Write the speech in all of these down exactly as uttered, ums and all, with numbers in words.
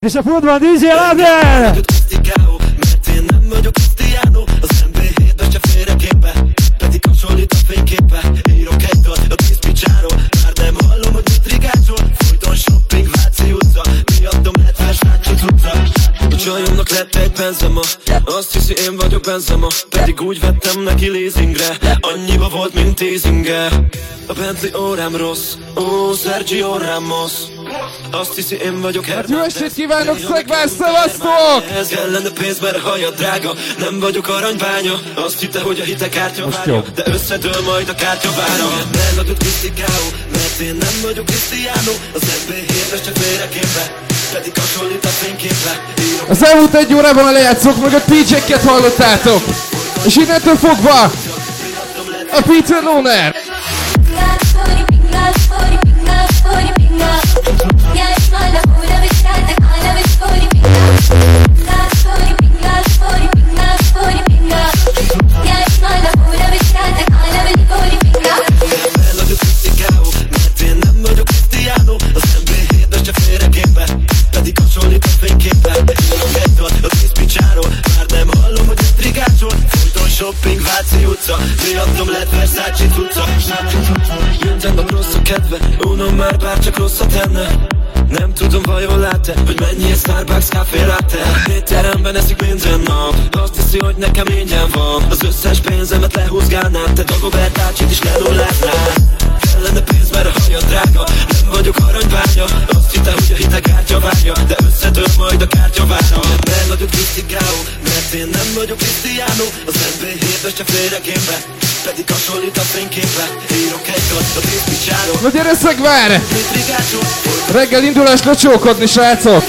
És a futban dé dzsé Lader! Mert én nem vagyok Cristiano, az en bé hétben se félreképe, pedig hasonlít a fényképe. Írok egy dalt a tíz picsáról, már nem hallom, hogy mit rigácsol. Folyton shopping, Váci utca, miattam lett Versace cucca. A csajomnak lett egy Benzema, azt hiszi én vagyok Benzema, pedig úgy vettem neki leasingre, annyiba volt, mint teasinge. A Bentley órám rossz, ó, Sergio Ramos, azt hiszi én vagyok Hernández. Jó estét kívánok, Szegvár, szevasztok! Ez kellene pénz, mert haja drága, nem vagyok aranybánya. Azt hitte, hogy a hite kártya várja, de összedől majd a kártyavára. Megadott Cristiano, mert én nem vagyok Cristiano, az en bé hétben se félreképe, pedig hasonlít a fényképe. Az elmúlt egy órában a lejátszók mögött pé jé-ket hallottátok, és innentől fogva a Peter Loner. Shopping, Váci utca, miattam lett Versace cucca. Mindenben rossz a kedve, unom már bárcsak rosszat tenne. Nem tudom, vajon lát-e, hogy mennyi egy Starbucks café latte. Étteremben eszik minden nap, azt hiszi, hogy nekem ingyen van. Az összes pénzemet lehúzgálnám, te Dagobert Ácsit is leluláznád. Kellene pénz, mert a haja drága, nem vagyok aranybánya. Azt hitte, hogy a hite kártya várja, de összedől majd a kártyavára. Nem vagyok Cristiano, mert én nem vagyok Cristiano, az en bé hétben se félreképe, pedig hasonlít a fényképe. Írok egy dalt a tíz picsáról. Na gyere, Szegvár! Reggel indulás lecsókodni, srácok!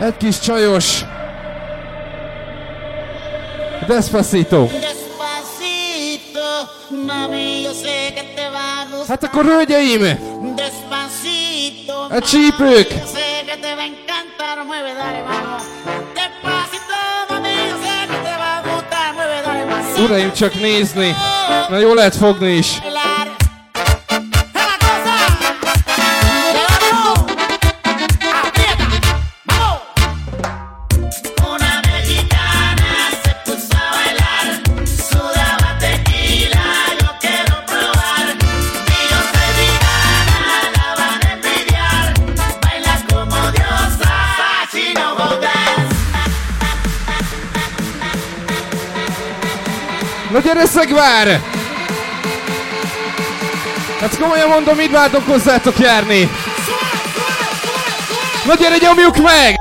Egy kis csajos. Despacito. Hát akkor hölgyeim! A csípők! Uraim, csak nézni! Na jól lehet fogni is! Na gyere szegvár! Hát komolyan mondom, mit vártok hozzátok járni? Na gyere, nyomjuk meg!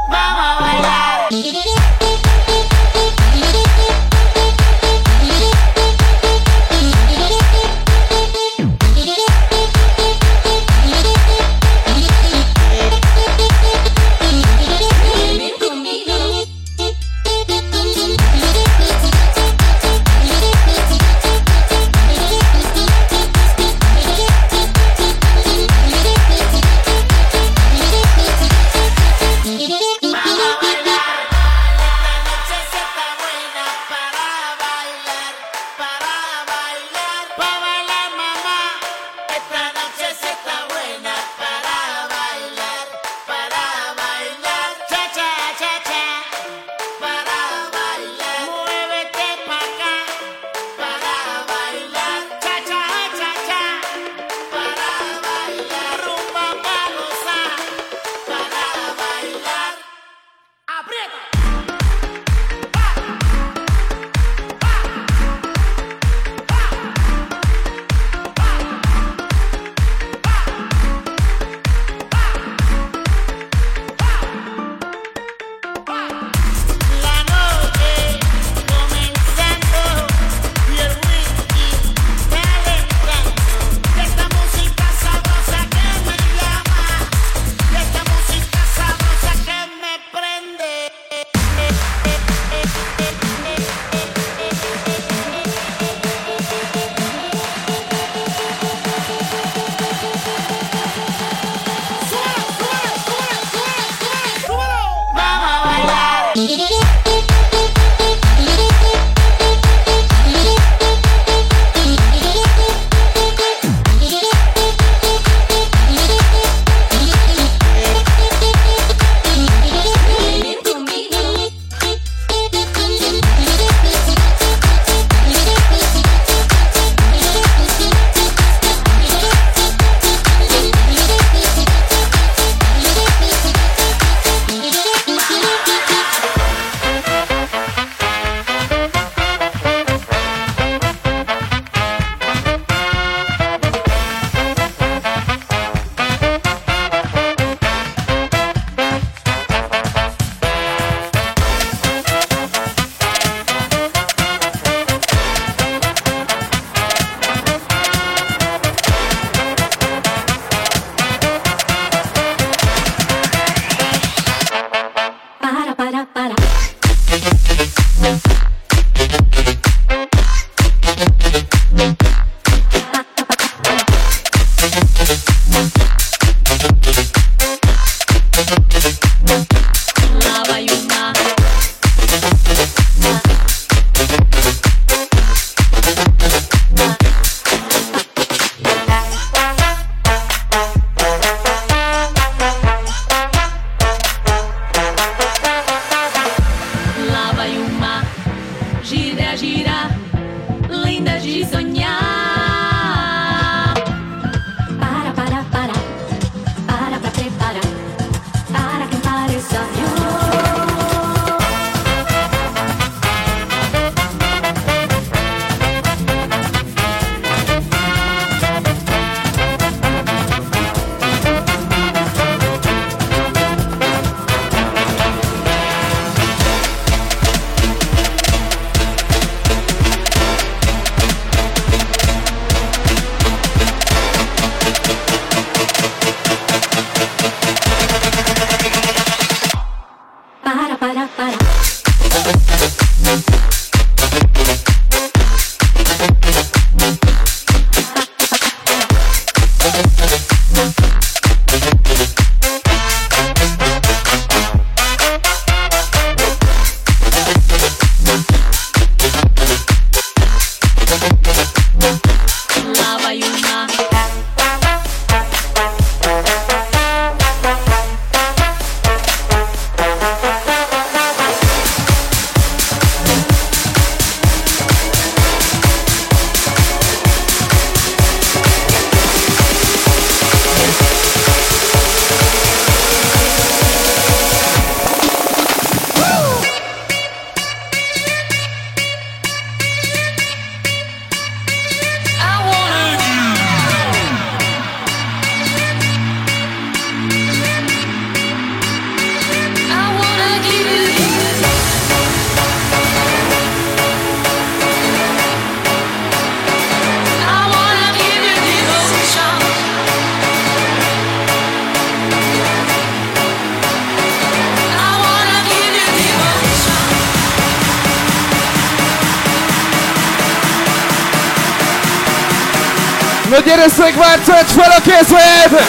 Na gyere Szegvár, tölts fel a kézved!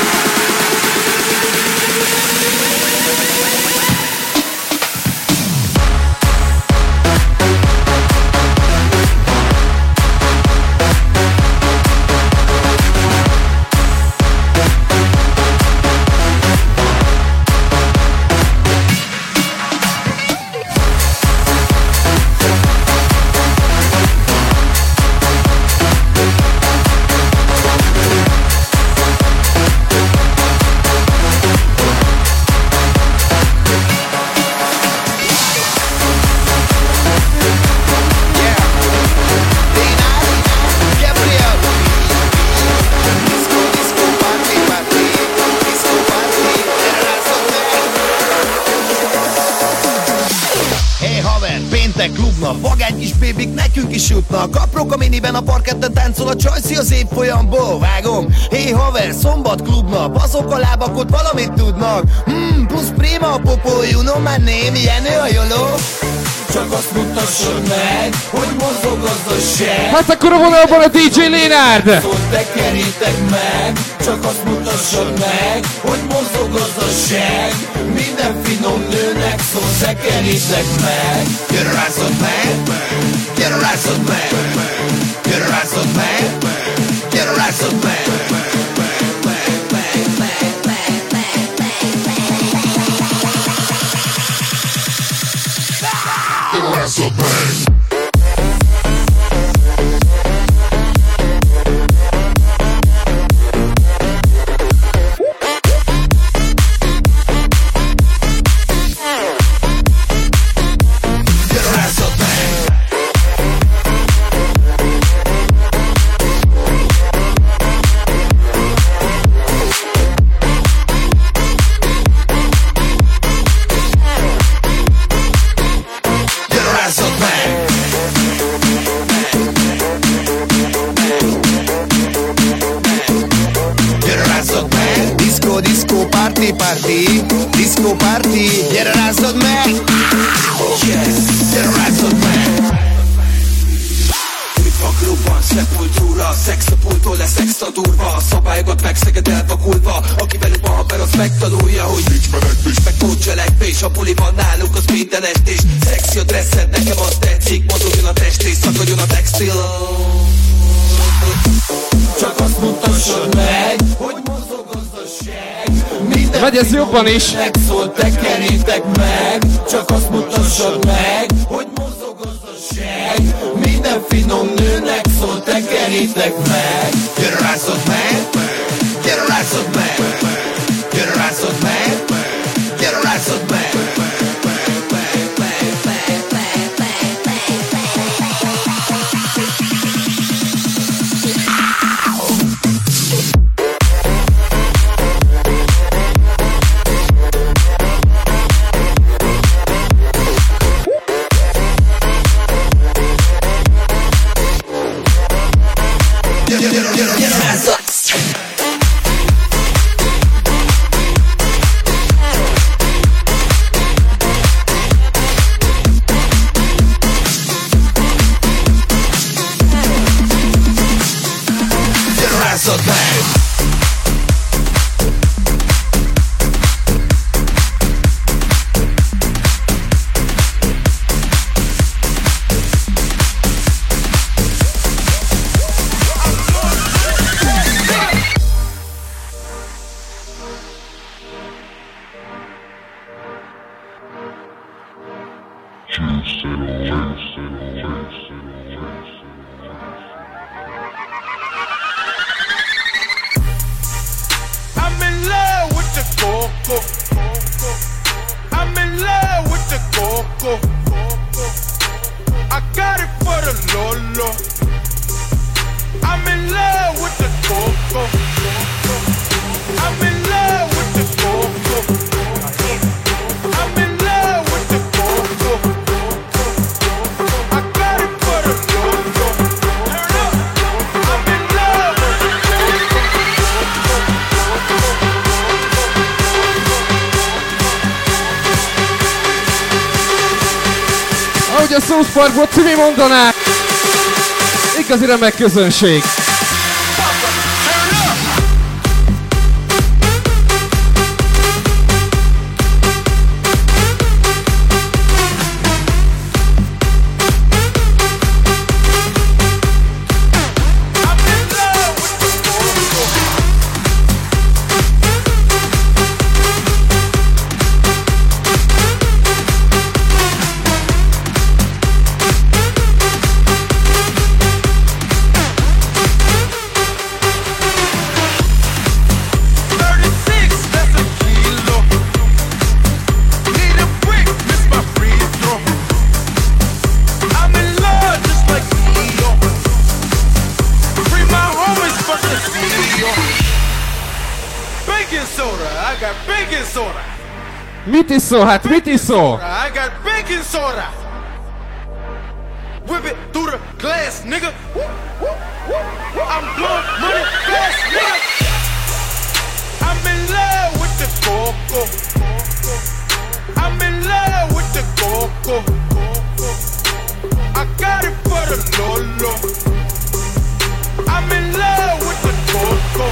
Vagány kis bébik nekünk is jutnak. Aprok a miniben a parketten táncol a csajszi az évfolyamból. Vágom, hé haver, szombat klubnap. Azok a lábak ott valamit tudnak. Hmm, plusz prima a popó, you know my name, Jenő a joló. Csak azt mutassad meg, hogy mozog gazdaság. Hát akkor a vonalban a dé dzsé Lénárd. Szóval tekerítek meg, csak azt mutassad meg, hogy mozog gazdaság. Minden finom nőnek szól, tekerítek meg. Gyere rászod meg, gyere rászod meg, gyere rászod meg, gyere rászod meg. That's a bang. Party, disco party, gyere rázzad meg! Yes, gyere rázzad meg! Itt a klubban, szepultúra, szex a pultól lesz extra durva. Szabályokat megszeged elvakulva, aki velük ma haver, az megtanulja, hogy nincs menekvés, meg pótcselekvés. A buli van nálunk, az minden estés. Szexi a dresszed, nekem az tetszik. Mozogjon a test és szakadjon a textil. Csak azt mutassad meg, hogy mozog gazdaság. Vagy ez jobban is. Megszól, tekerítek meg. Csak azt mutassad meg, hogy mozog gazdaság. Minden finom nőnek szól, tekerítek meg. Gyere rászod meg, gyere rászod meg, gyere rászod meg, gyere rászod meg. A South Parkból Timi mondaná, igazi remek közönség. I got baking soda. Mit iszol? Hát mit iszol? I got baking soda. Whip it through the glass, nigga. I'm blowing money fast, nigga. I'm in love with the coco. I'm in love with the coco. I got it for the Lolo. I'm in love with the coco.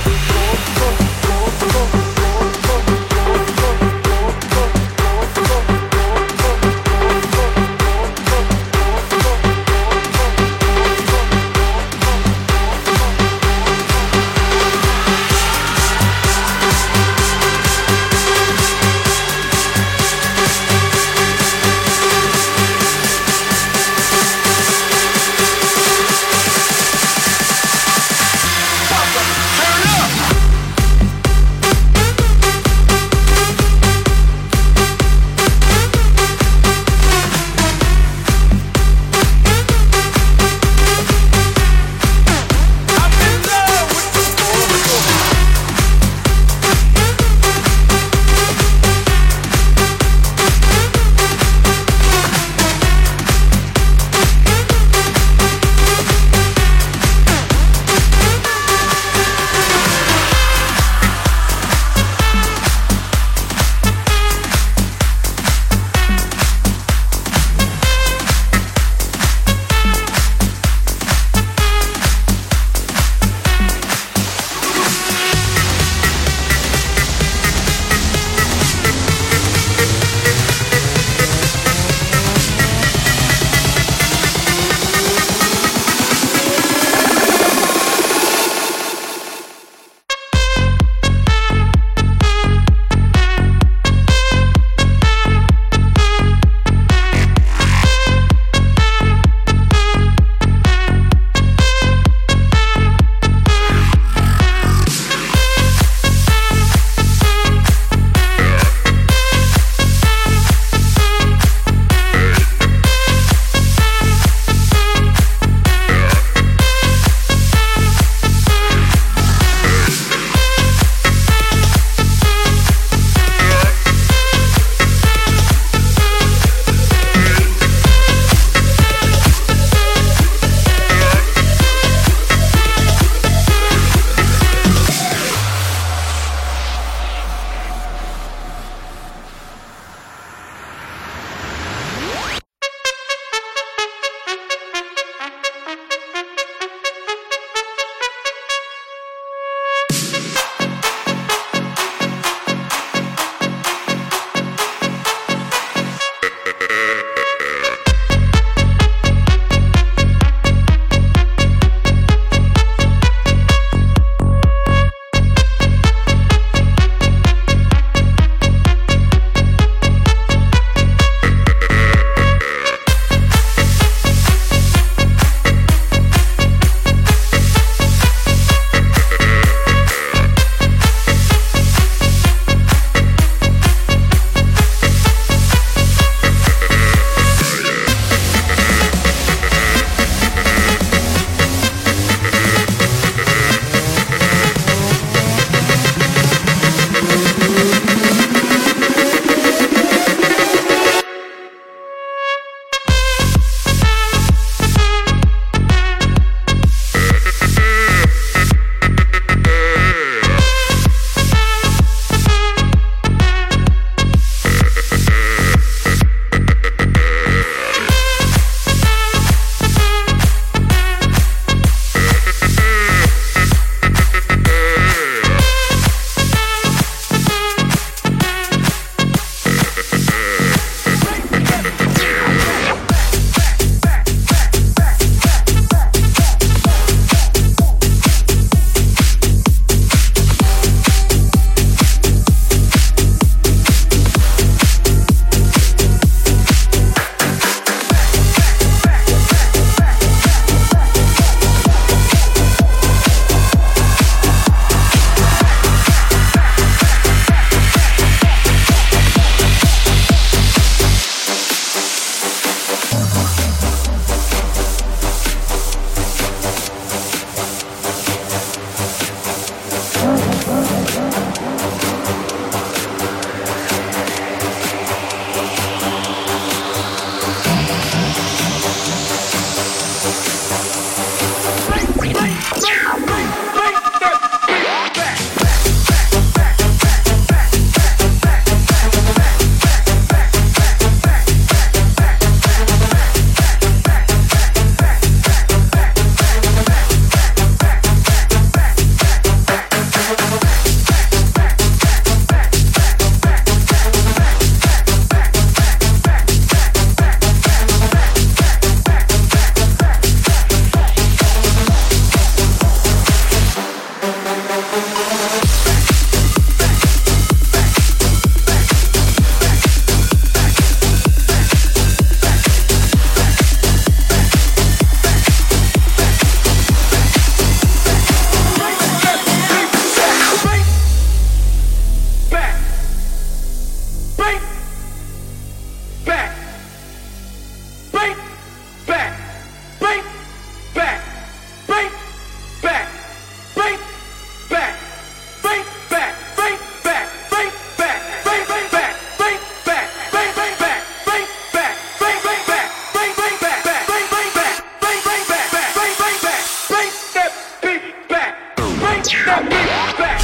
that beat back.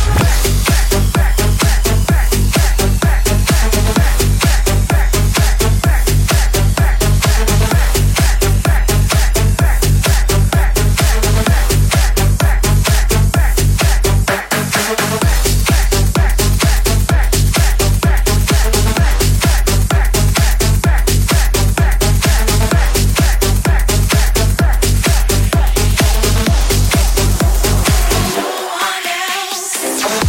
No one else.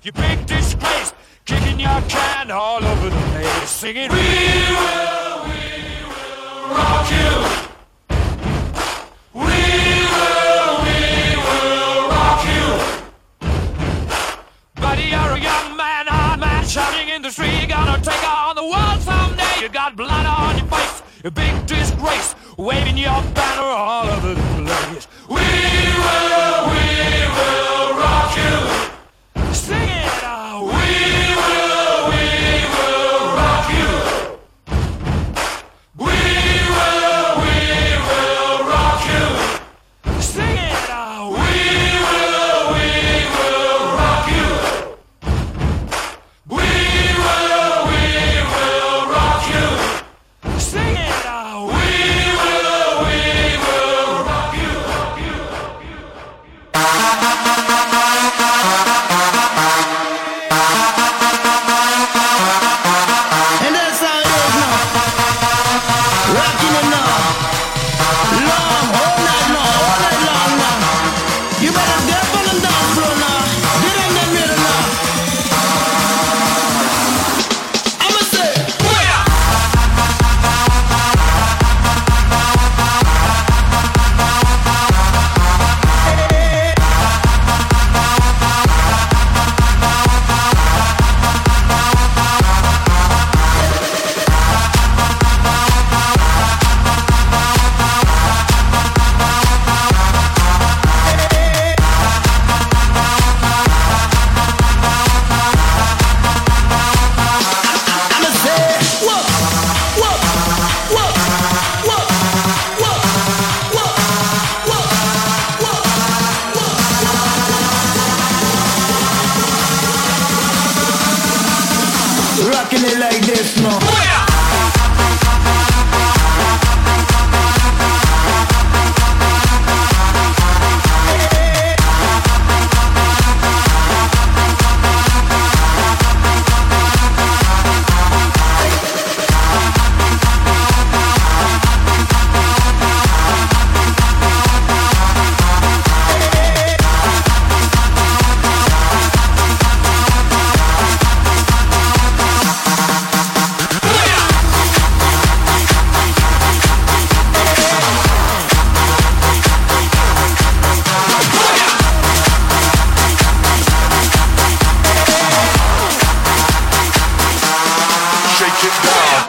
you big disgrace, kicking your can all over the place, singing, we will, we will rock you. We will, we will rock you. Buddy, you're a young man, hard man, shouting in the street, you're gonna take on the world someday. You got blood on your face, a big disgrace, waving your banner all over the place. We will, we will rock you. Sing it out. We will, we will rock you. We will, we will rock you. Sing it out. We will, we will rock you. We will, we will rock you. Sing it out. We will, we will rock you. Rock you, rock you. And that's how it is now. Rocking it now. Long, all night long, all night long now. You better get on the dance floor now. Get in the middle now. I'ma say, I'ma say, whoa, whoa, whoa, whoa, whoa, whoa, whoa, whoa. Rocking it like this now. Shake it down.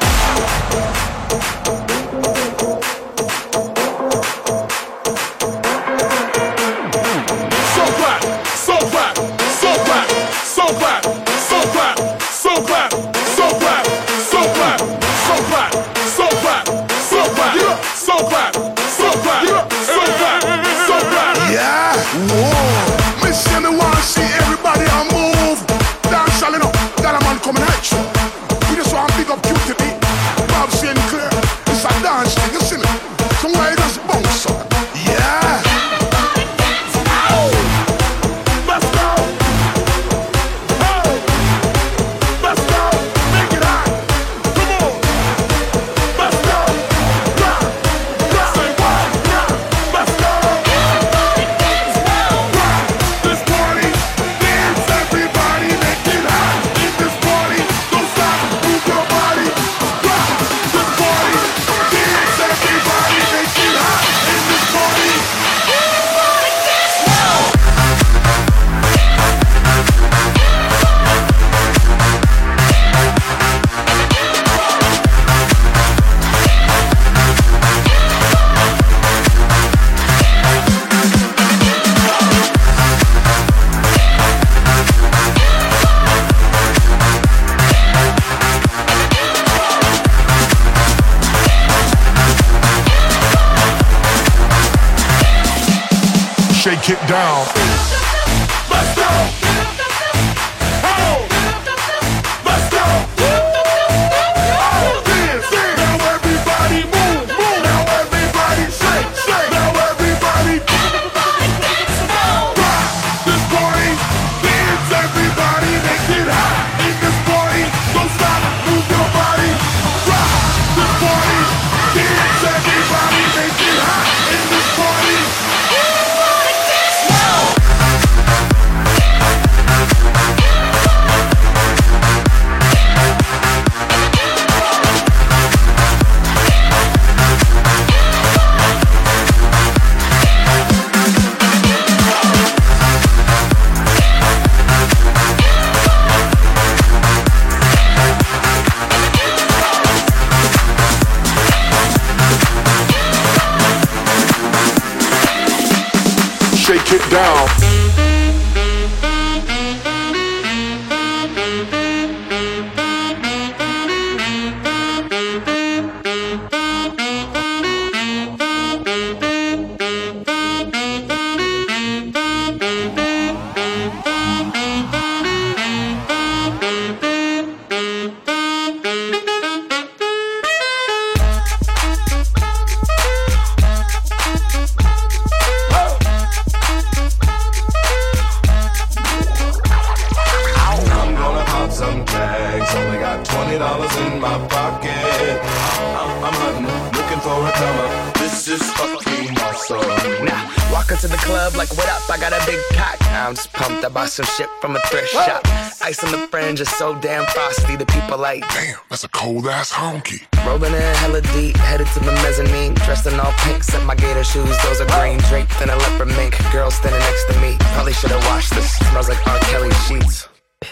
So clap, so clap, so clap, so clap, so clap, so clap, so clap, so clap, so clap, so clap, so clap, so clap, so clap, so clap, so clap. Yeah, whoa. Me say me want see everybody on move. Dance all enough, got a man coming at you. We just want to pick up Q T B, Bob Sinclair. It's a dance thing, you see me? Somebody just bounce on. Yeah. Let's go. Oh, let's go. Make it hot. Come on. Let's go. Rock, rock. Say what? Rock. Let's go. Rock. This party, dance everybody, make it hot. In this party, don't stop, move your body. Rock. This party, dance everybody, make it hot. In this party. Shake it down. Let's go! Oh! Let's go! Oh! Dance, dance! Now everybody move, move! Now everybody shake, shake! Now everybody rock this party! Dance, everybody, make it hot! In this party, don't stop, move your body! Rock this party! Dance, everybody, make it hot! In this party! Now! shit down. Some shit from a thrift shop. Ice on the fringe is so damn frosty. The people like, damn, that's a cold ass honky. Rolling in hella deep, headed to the mezzanine. Dressed in all pink, set my gator shoes. Those are green, draped in a leopard mink. Girl standing next to me. Probably should've washed this. Smells like R. Kelly sheets.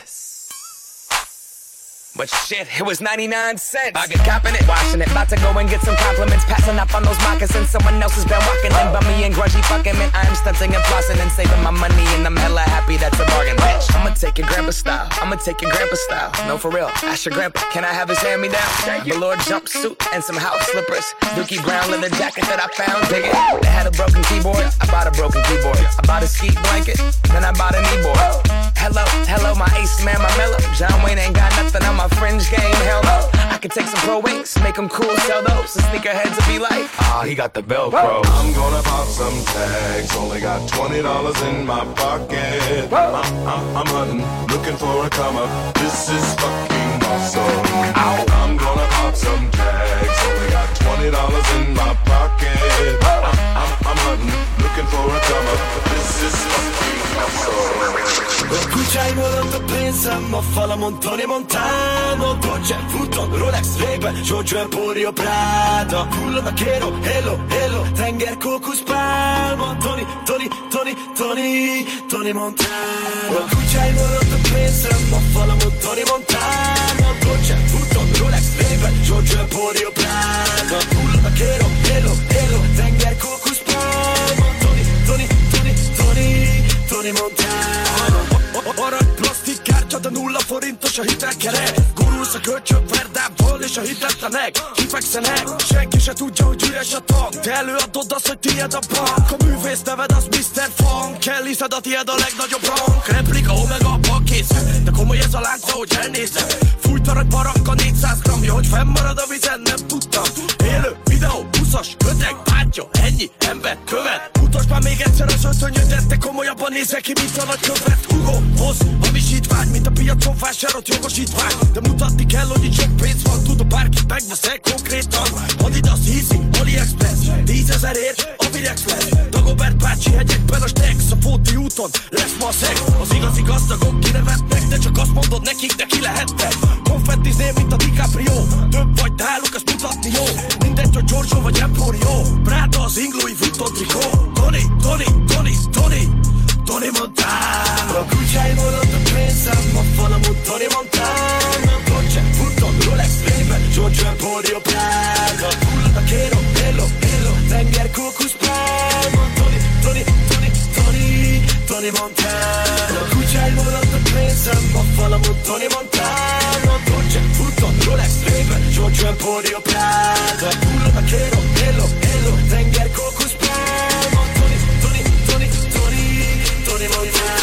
But shit, it was ninety-nine cents. I get copping it, washing it. About to go and get some compliments. Passing up on those moccasins. Someone else has been walking in. Bummy and grungy fucking man. I'm stunting and flossing and saving my money. And I'm hella happy that's a bargain, bitch. I'ma take your grandpa style. I'ma take your grandpa style. No, for real. Ask your grandpa, can I have his hand me down? Velour jumpsuit and some house slippers. Dookie brown leather jacket that I found. Dig it. They had a broken keyboard. I bought a broken keyboard. I bought a ski blanket. Then I bought a kneeboard. Hello, hello, my ace man, my mellow. John Wayne ain't got nothing on my fringe game, hell no. I can take some pro wings, make them cool, sell those. The sneakerheads will be like, ah, oh, he got the Velcro. I'm gonna pop some tags, only got twenty dollars in my pocket. I'm, I'm, I'm hunting, looking for a come up. This is fucking awesome. Ow. I'm gonna pop some tags, only got twenty dollars in my pocket. I'm, I'm, I'm hunting, looking for a come up. This is fucking awesome. Escuchai volando pensando fala montone montano Dolce, Futon, Rolex, Ray-Ban, Jojo e Purio Prado Culo vaquero, hello, hello Tenger, Cocus, Palmo Tony, Tony, Tony, Tony Tony Montano Escuchai volando pensando fala montone montano Dolce, Futon, Rolex, Ray-Ban, Jojo e Purio Prado Culo vaquero, hello, hello Tenger, Cocus, Palmo Tony, Tony, Tony, Tony Tony Montano Arany plastik kártya, de nulla forintos a hitelkere Gurulsz a kölcsön verdából és a hitetlenek Kifekszenek, senki se tudja, hogy üres a tank Te előadod azt, hogy tiéd a bank A művész neved az miszter Funk Kell hiszed a tiéd a legnagyobb rank Replika, omega, a bankészre De komoly ez a lánc, ahogy elnézem Fújt arany baranka négyszáz gramja Hogy fennmarad a vizen, nem tudtam Élő videó, buszos, köteg, bátyja Ennyi ember követ Mutasd már még egyszer az ötönyödet De komolyabban nézve ki, mint a nagykövet Hugo, hoz, hamisítvány Mint a piacon vásárolt jogosítvány De mutatni kell, hogy itt sok pénz van Tudom, bárkit megveszel konkrétan Adidas, Easy, AliExpress Tízezerért, a Virex lesz Dagobert bácsi hegyekben a Stex A Fóti úton lesz ma a szeg Az igazi gazdagok kinevetnek De csak azt mondod nekik, de ki lehetnek Konfettizném, mint a DiCaprio Több vagy náluk, ezt mutatni jó Mindegy, hogy Giorgio vagy Emporio Prada, az Ing Louis Vuitton trikó Tony, Tony, Tony, Tony Tony Montano Escuchai volando pensando fala Tony Montano Dolce, Futon, Rolex, Ray-Ban, Jojo e Purio Prado Culo vaquero, hello, hello Tenger, Cocus, Palmo Tony, Tony, Tony, Tony Tony Montano Escuchai volando pensando fala Tony Montano Dolce, Futon, Rolex, Ray-Ban, Jojo e Purio Prado Culo vaquero, hello, hello Tenger, Cocus, Palmo Tony, Tony, Tony, Tony Tony Montano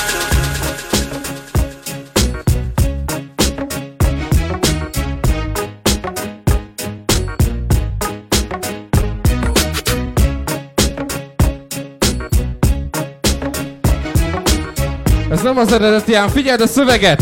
Ez nem az eredeti ám, figyeld a szöveget!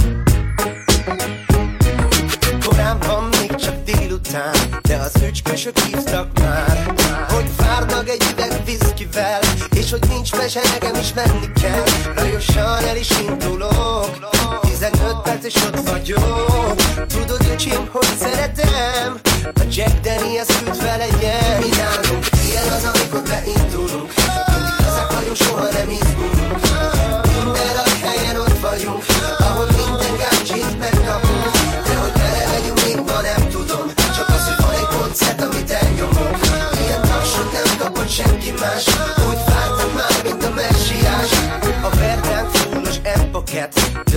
Korán van, még csak délután, de az öcskösök hívtak már, hogy várnak egy üveg viszkivel, és hogy nincs mese, nekem is menni kell. Lajosan el is indulok, tizenöt perc és ott vagyok. Tudod, öcsém, hogy szeretem a Jack Daniels süt felegyen. Mi nálunk ilyen az, amikor beindulunk, mindig ezek vagyunk, soha nem izgulunk. Minden a helyen ott vagyunk, ahol minden gácsit megkapunk. De hogy bele megyünk, még ma nem tudom, csak az, hogy van egy koncert, amit elnyomok. Ilyen tapsot nem kapott senki más, úgy vártam már, mint a messiás.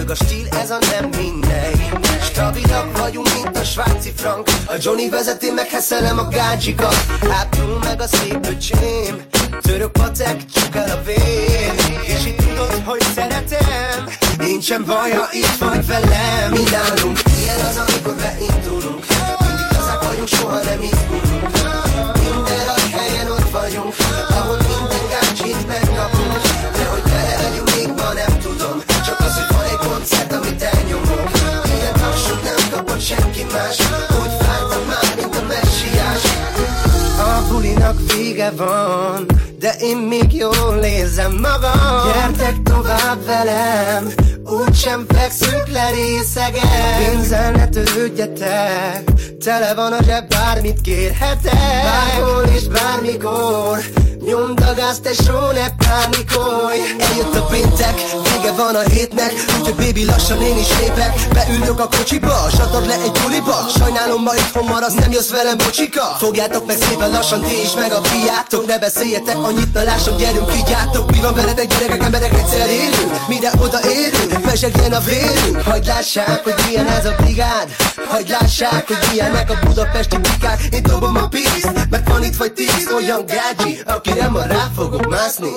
Meg a stíl, ez a nem mindegy. Stabilak vagyunk, mint a svájci frank. A Johnny vezeti, meg heszelem a gácsikat. Ápul meg a szép öcsém, török patek, csuk el a vér. És itt tudod, hogy szeretem, nincsen baj, ha itt vagy velem. Mi nálunk ilyen az, amikor beindulunk. Mindig lazák vagyunk, soha nem izgulunk. Minden rajt helyen ott vagyunk, ahol minden gácsit megkapunk. De hogy vele legyünk, még ma nem tudom. Csak az, hogy van egy koncert, amit elnyomunk. Ilyen taksot nem kapott senki más. Úgy vártam már, mint a messiás. A bulinak vége van, de én még jól érzem magam. Gyertek tovább velem, úgysem fekszünk le részegen. Pénzzel ne törődjetek, tele van a zseb, bármit kérhetek. Bárhol és bármikor, nyomd a gázt, tesó, ne pánikolj. Eljött a péntek, vége van a hétnek, úgyhogy baby lassan én is lépek. Beülök a kocsiba, satad le egy buliba. Sajnálom, ma itthon maradsz, nem jössz velem, bocsika. Fogjátok meg szépen lassan, ti is meg a fiátok. Ne beszéljetek annyit, na lássuk, gyerünk, vigyátok. Mi van veletek, gyerekek, emberek, egyszer élünk. Mire odaérünk, mesegjen a vérünk. Hagyd lássák, hogy milyen ez a brigád. Hagyd lássák, hogy milyenek a budapesti bikák. Én dobom a pízt, mert van itt vagy tíz olyan gágyi, akire ma rá fogok mászni.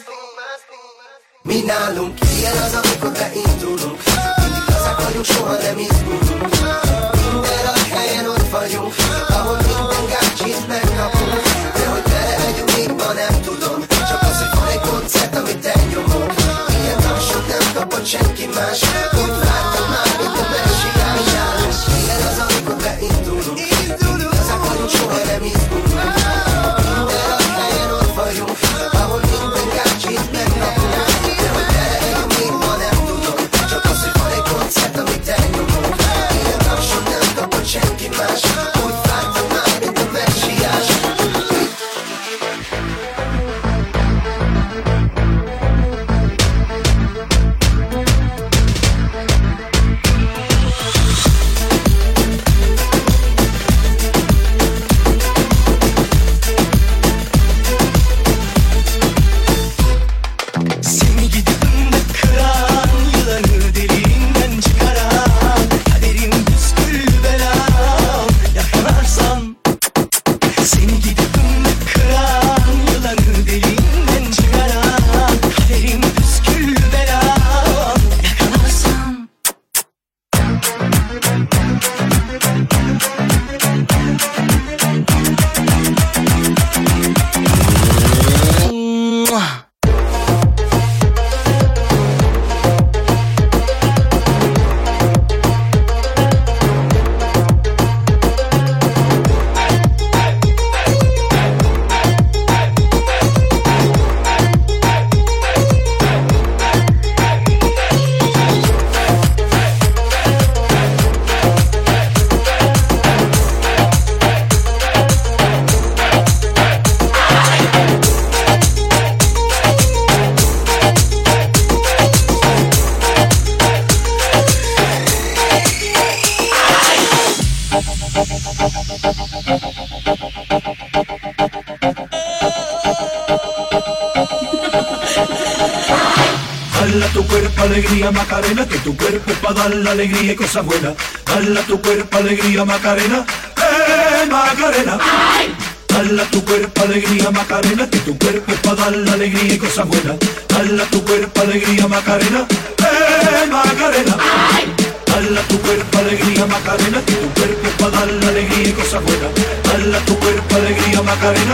Mi nálunk ilyen az, amikor beindulunk. Mindig lazák vagyunk, soha nem izgulunk. Minden rajt helyen ott vagyunk, ahol minden gácsit megkapunk. De hogy vele legyünk, még ma nem tudom. Csak az, hogy van egy koncert, amit elnyomunk. Ilyen tapsot nem kapott senki más. Úgy vártam már, mint a messiás. Mi nálunk ilyen az, amikor beindulunk. Mindig lazák vagyunk, soha nem izgulunk. Minden rajt helyen ott vagyunk, ahol minden gácsit megkapunk. De hogy vele legyünk, még ma nem tudom. Csak az, hogy van egy koncert, amit elnyomunk. Ilyen tapsot nem kapott senki más. Úgy vártam már, mint a messiás. Dale a tu cuerpo alegría Macarena, que tu cuerpo es para dar la alegría y cosas buenas. Dale a tu cuerpo alegría Macarena, eh Macarena. Dale a tu cuerpo alegría Macarena, que tu cuerpo es para dar la alegría y cosas buenas. Dale a tu cuerpo alegría Macarena, eh Macarena. Dale a tu cuerpo alegría Macarena, que tu cuerpo es para dar la alegría y cosas buenas. Dale a tu cuerpo alegría Macarena,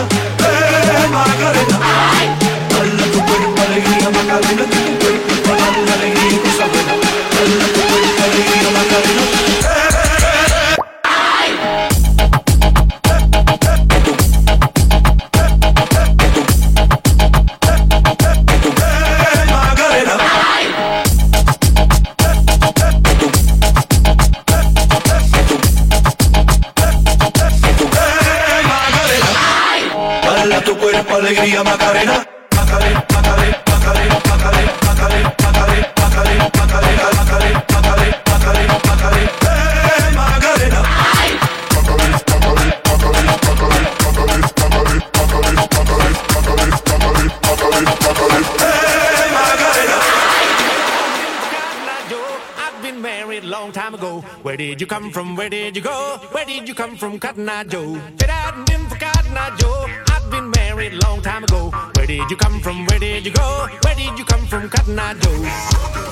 eh Macarena. Dale a tu cuerpo alegría Macarena, que tu cuerpo es para dar la alegría y cosas buenas. Dale a tu cuerpo alegría Macarena, eh alegría Macarena, Macarena, Macarena, Macarena, Macarena, Macarena, Macarena, Macarena, Macarena, Macarena, Macarena, Macarena, Macarena, eh Macarena. I've been married a long time ago. Where did you come from? Where did you go? Where did you come from, Cotton Eye Joe? If it hadn't been for Cotton Eye Joe, I've been married a long time ago. Where did you come from? Where did you go? Where did you come from, Cotton Eye Joe?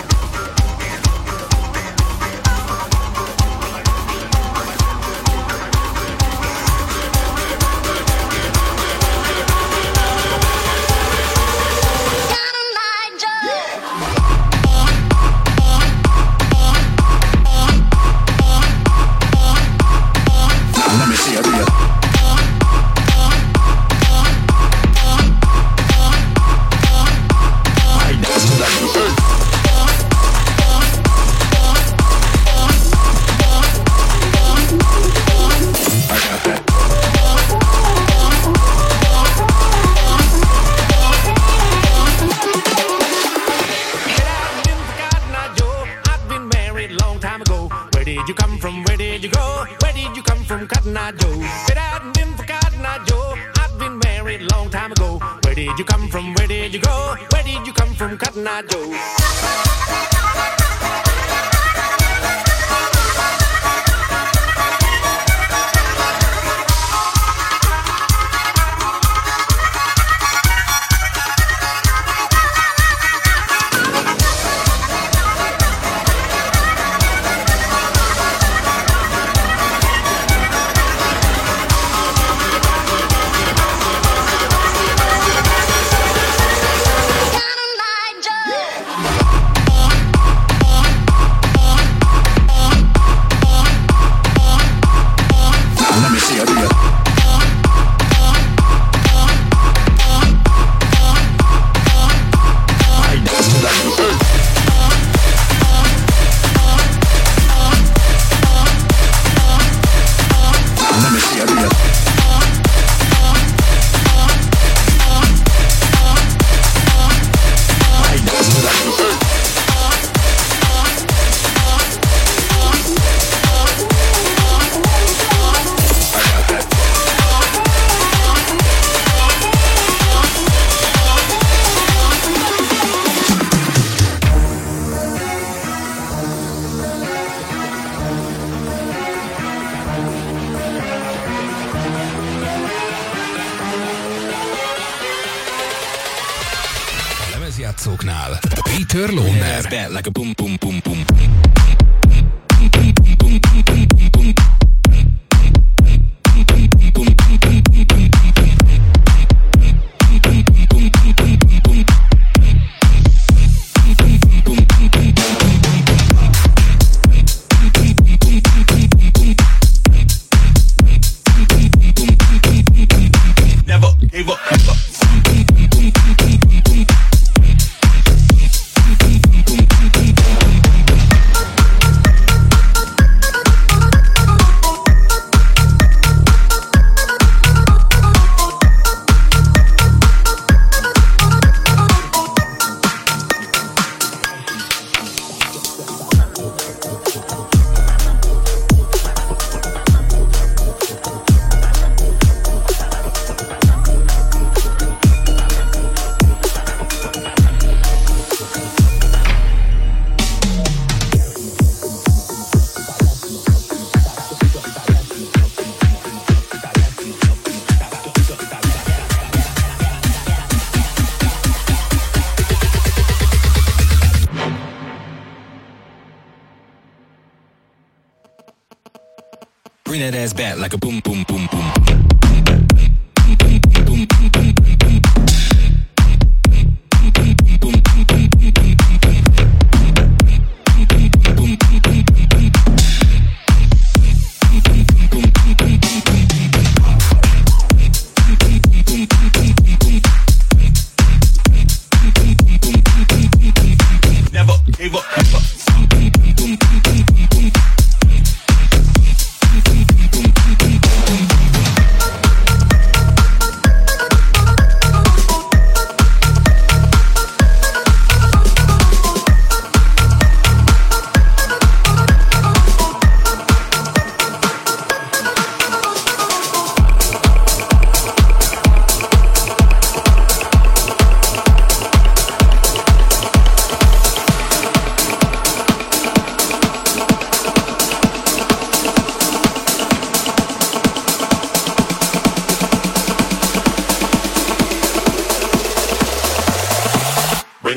Játszóknál Peter Lohner. Like a boom, boom, boom, boom. Never gave up. Bring that ass back like a boom, boom, boom, boom. Never gave up.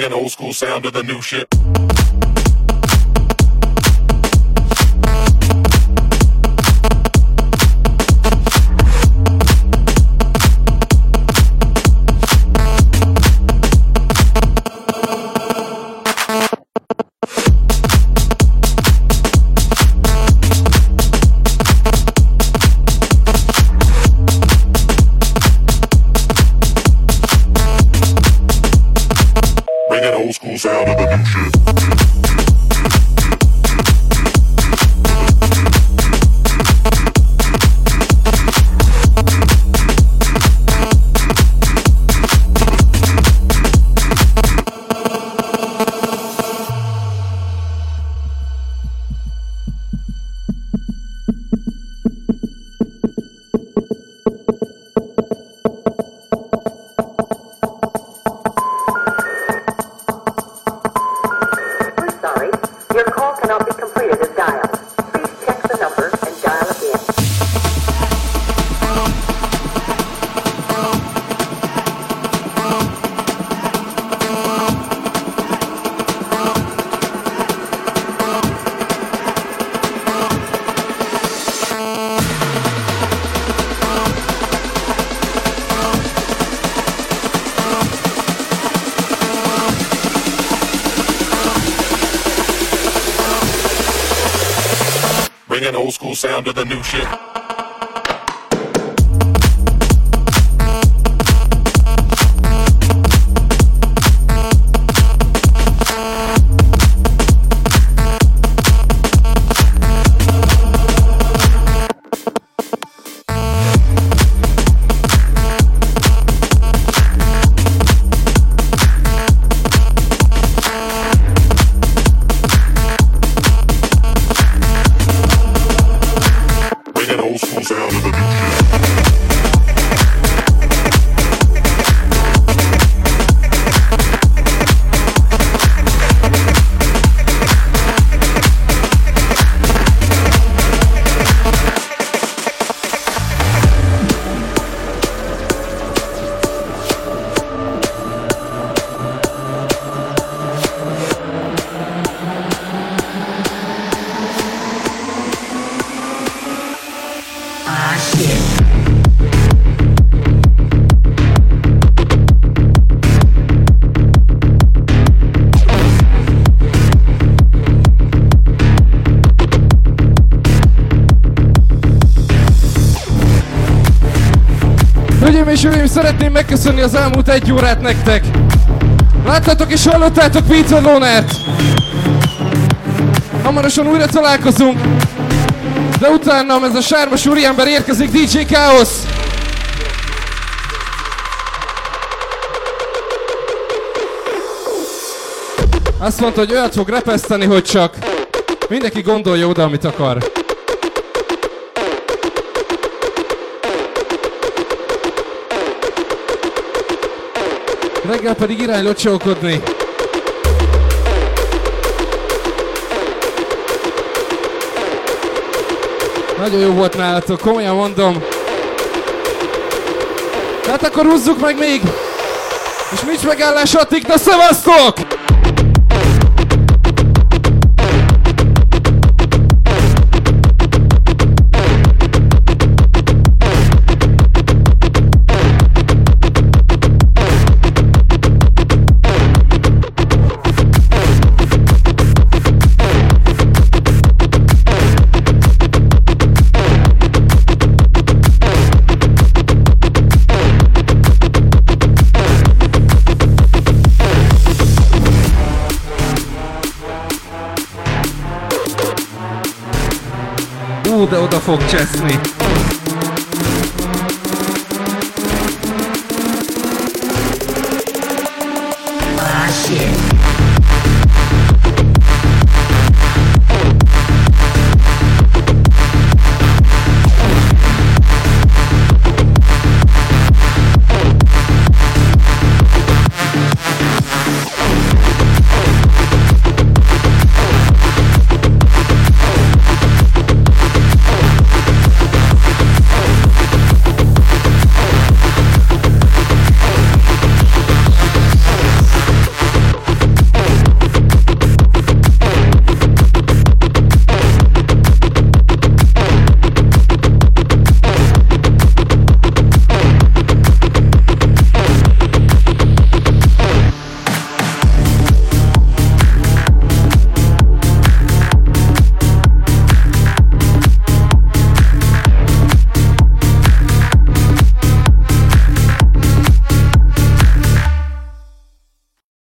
Bringing old school sound to the new shit. Sound of the new shit. Bringing old school sound to the new shit. Hölgyeim és uraim, szeretném megköszönni az elmúlt egy órát nektek. Láttátok és hallottátok Peter Lonert. Hamarosan újra találkozunk. De utána ez a sármos úriember érkezik, dé dzsé Chaos. Azt mondta, hogy olyat fog repeszteni, hogy csak mindenki gondolja oda, amit akar. Reggel pedig irány locsolkodni. Nagyon jó volt nálatok, komolyan mondom. Hát akkor húzzuk meg még! És nincs megállás addig, na szevasztok! De oda fog cseszni.